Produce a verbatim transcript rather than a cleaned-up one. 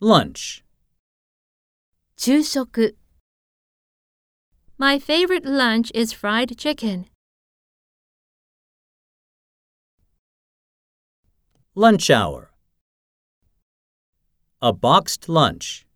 Lunch. 昼食 My favorite lunch is fried chicken. Lunch hour. A boxed lunch.